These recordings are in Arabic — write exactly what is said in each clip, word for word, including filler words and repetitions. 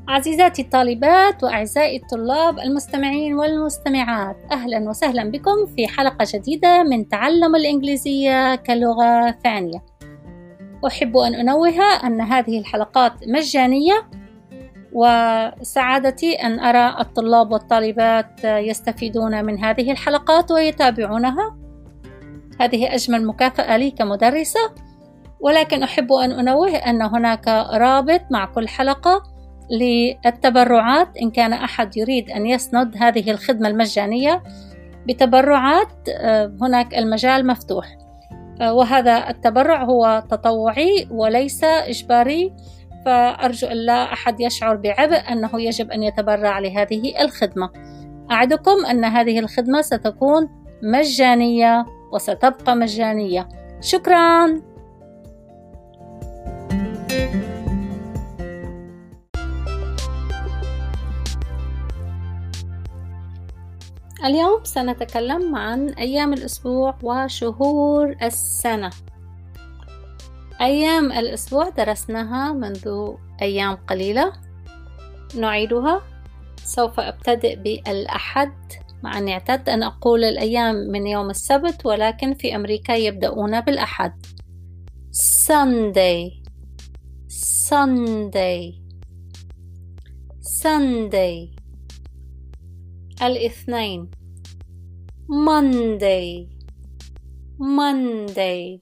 عزيزاتي الطالبات وأعزائي الطلاب المستمعين والمستمعات، أهلا وسهلا بكم في حلقة جديدة من تعلم الإنجليزية كلغة ثانية. أحب أن أنوه أن هذه الحلقات مجانية، وسعادتي أن أرى الطلاب والطالبات يستفيدون من هذه الحلقات ويتابعونها. هذه أجمل مكافأة لي كمدرسة، ولكن أحب أن أنوه أن هناك رابط مع كل حلقة للتبرعات. إن كان أحد يريد أن يسند هذه الخدمة المجانية بتبرعات، هناك المجال مفتوح، وهذا التبرع هو تطوعي وليس إجباري، فأرجو أن لا أحد يشعر بعبء أنه يجب أن يتبرع لهذه الخدمة. أعدكم أن هذه الخدمة ستكون مجانية وستبقى مجانية. شكراً. اليوم سنتكلم عن أيام الأسبوع وشهور السنة. أيام الأسبوع درسناها منذ أيام قليلة، نعيدها. سوف أبتدئ بالأحد، مع أني اعتدت أن أقول الأيام من يوم السبت، ولكن في أمريكا يبدأون بالأحد. Sunday Sunday Sunday. الاثنين Monday Monday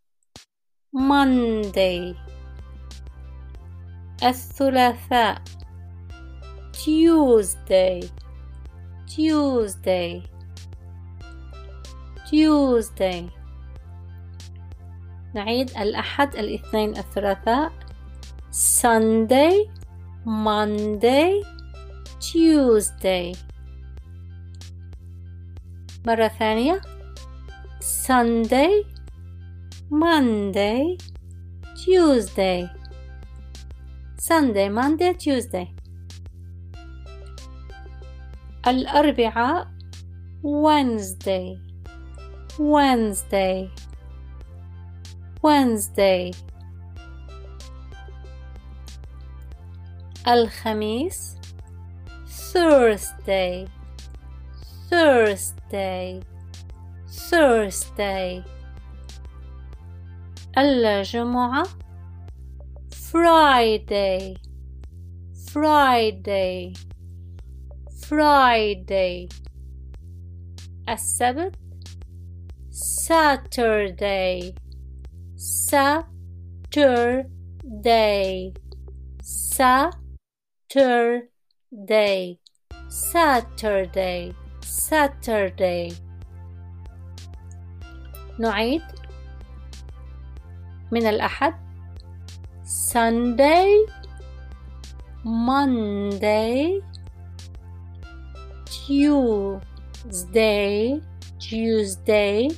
Monday. الثلاثاء Tuesday Tuesday Tuesday. نعيد: الأحد، الاثنين، الثلاثاء. Sunday Monday Tuesday. مرة ثانية: Sunday Monday Tuesday Sunday Monday Tuesday. الأربعاء Wednesday Wednesday Wednesday. الخميس Thursday Thursday Thursday. الجمعة Friday Friday Friday. السبت Saturday Saturday Saturday Saturday Saturday. نعيد: من الأحد Sunday Monday Tuesday Tuesday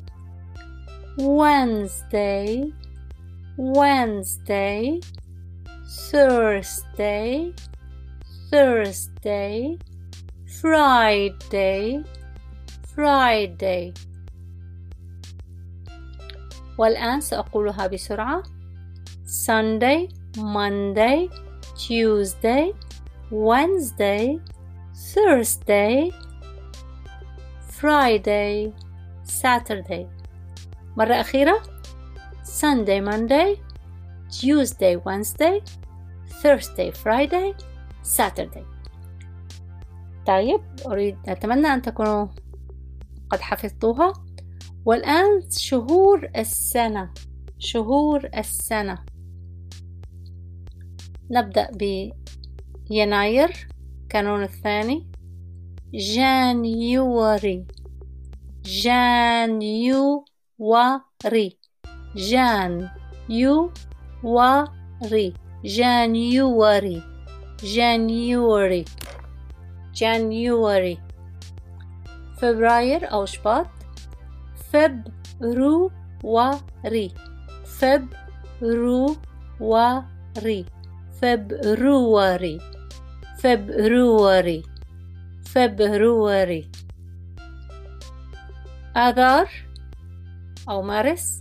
Wednesday Wednesday Thursday Thursday Friday Friday. والآن سأقولها بسرعة: Sunday Monday Tuesday Wednesday Thursday Friday Saturday. مرة أخيرة: Sunday Monday Tuesday Wednesday Thursday Friday Saturday. طيب، أريد أتمنى أن تكونوا قد حفظتوها. والآن شهور السنة. شهور السنة نبدأ بيناير، كانون الثاني. جانيوري جانيوري جان يو وري جانيوري جانيوري جانيوري. فبراير أو شباط فبروري فبروري فبروري فبروري فبروري. آذار أو مارس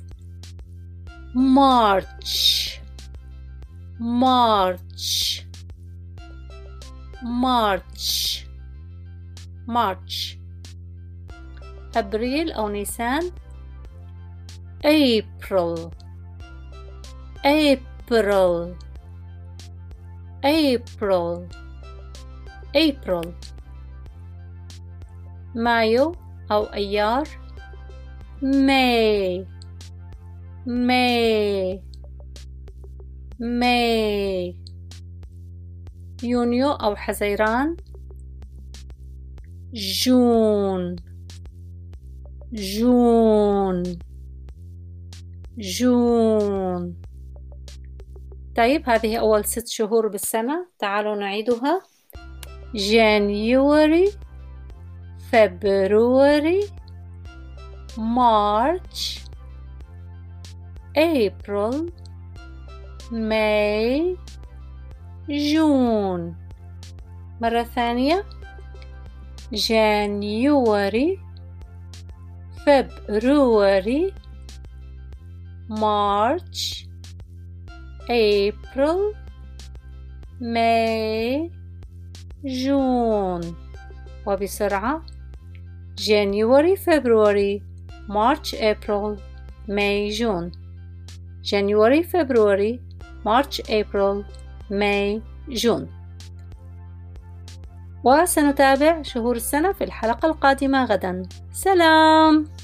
مارش مارش March March. أبريل أو نيسان April April April April. مايو أو أيار May May May. يونيو أو حزيران جون جون جون. طيب هذه أول ست شهور بالسنة، تعالوا نعيدها. January February March April May June. مرة ثانية January February March April May June. وبسرعة January February March April May June. January February March April May June. وسنتابع شهور السنة في الحلقة القادمة غدا. سلام.